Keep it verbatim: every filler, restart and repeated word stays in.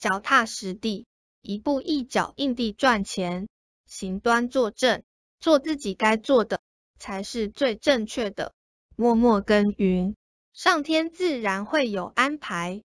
脚踏实地，一步一脚印地赚钱，行端坐正，做自己该做的，才是最正确的。默默耕耘，上天自然会有安排。